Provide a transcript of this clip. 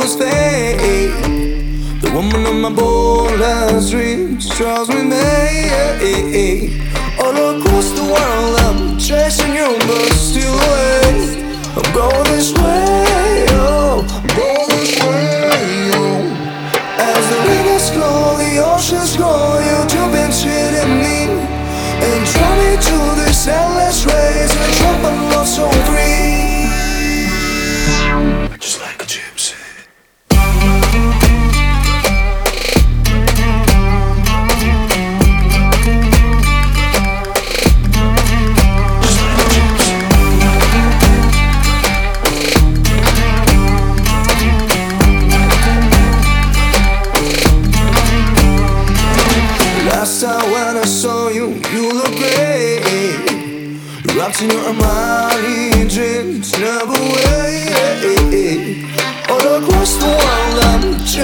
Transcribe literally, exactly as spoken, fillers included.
was fate. The woman of my boldest dreams draws me made. All across the world I'm chasing you, but still away. I'm going this way, oh, I'm going this way, oh. As the rivers flow, the oceans grow, you jump into me and draw me to this endless race. I drop my love so free, just like a gypsy. Last time when I saw you, you look great. Wrapped in your Armani dreams, never wait. All across the world I'm